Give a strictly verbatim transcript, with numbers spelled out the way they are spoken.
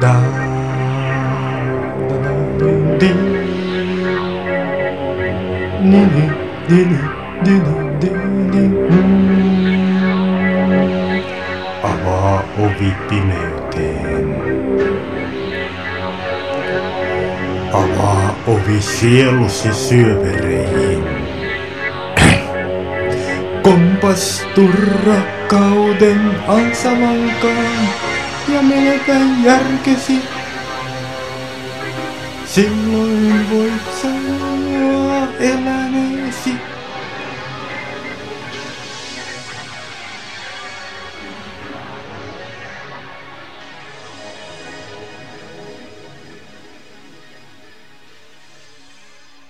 Da, da, da, di, di, ni, ni, di, di, di, di, di, mm. Avaa ovi pimeyteen. Avaa ovi sielusi syövereihin. Kompastu rakkauden ansalankaan ja menetä järkesi. Silloin voit sanoa eläneesi.